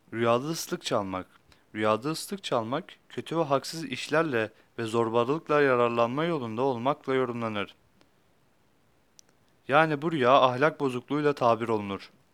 Rüyada ıslık çalmak. Rüyada ıslık çalmak, kötü ve haksız işlerle ve zorbalıkla yararlanma yolunda olmakla yorumlanır. Yani bu rüya ahlak bozukluğuyla tabir olunur.